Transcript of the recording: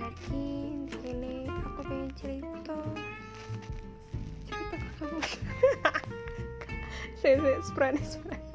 Jadi di sini aku pengen cerita ke kamu. Saya sprane